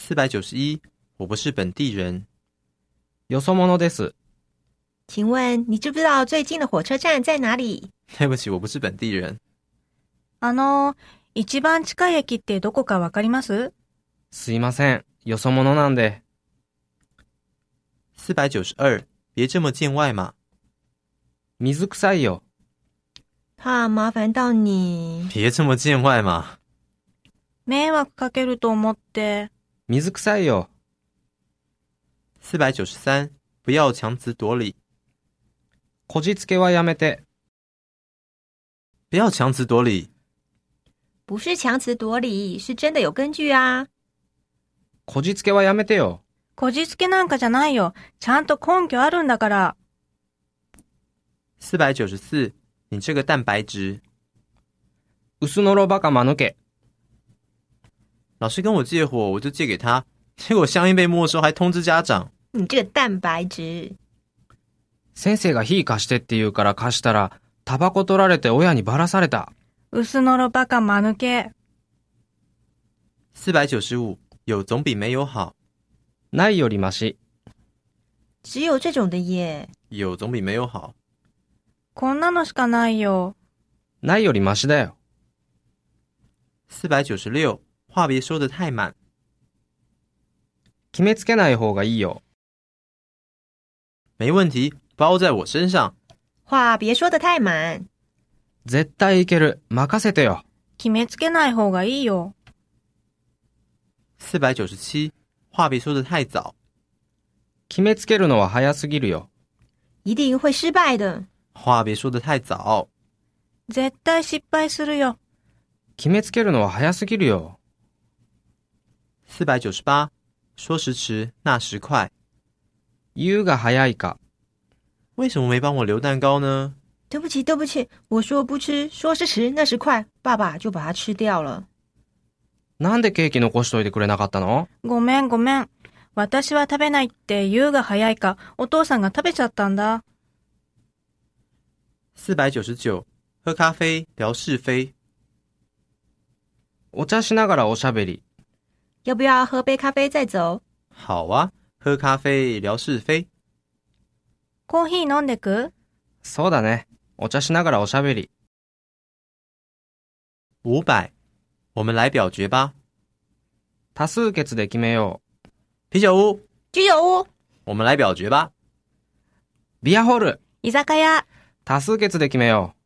491，我不是本地人。 よそ者です。 请问你知不知道最近的火车站在哪里？ 对不起，我不是本地人。 一番近い駅ってどこかわかります？ すいません、よそ者なんで。 492，别这么见外嘛。 水臭いよ。 怕麻烦到你。 别这么见外嘛。 迷惑かけると思って。 水臭いよ。 493，不要强词夺理。 こじつけはやめて。 不要强词夺理。 不是强词夺理，是真的有根据啊。 こじつけはやめてよ。 こじつけなんかじゃないよ。ちゃんと根拠あるんだから。 494，你这个蛋白质。 薄のろバカ間抜け。 老师跟我借火，我就借给他，结果香烟被没收，还通知家长。 你这个蛋白质。 先生が火貸してって言うから貸したら、タバコ取られて親にばらされた。 薄のろバカ間抜け。 495，有总比没有好。 ないよりマシ。 只有这种的耶。 有总比没有好。 こんなのしかないよ。 ないよりマシだよ。 496，话别说得太满。 決めつけない方がいいよ。 没问题，包在我身上。 话别说得太满。 絶対いける。任せてよ。 決めつけない方がいいよ。 497，话别说得太早。 決めつけるのは早すぎるよ。 一定会失败的。 话别说得太早。 絶対失敗するよ。 決めつけるのは早すぎるよ。 498，说时迟，那时快。 言うが早いか。 为什么没帮我留蛋糕呢？ 对不起，对不起，我说不吃，说时迟，那时快，爸爸就把它吃掉了。 なんでケーキ残しといてくれなかったの？ ごめんごめん。私は食べないって言うが早いか、お父さんが食べちゃったんだ。 499，喝咖啡聊是非。 お茶しながらおしゃべり。 要不要喝杯咖啡再走？ 好啊，喝咖啡聊是非。 コーヒー飲んでく？ そうだね。お茶しながらおしゃべり。 500，我们来表决吧。 多数決で決めよう。 啤酒屋， 居酒屋。 我们来表决吧。 ビアホール。 居酒屋。 多数決で決めよう。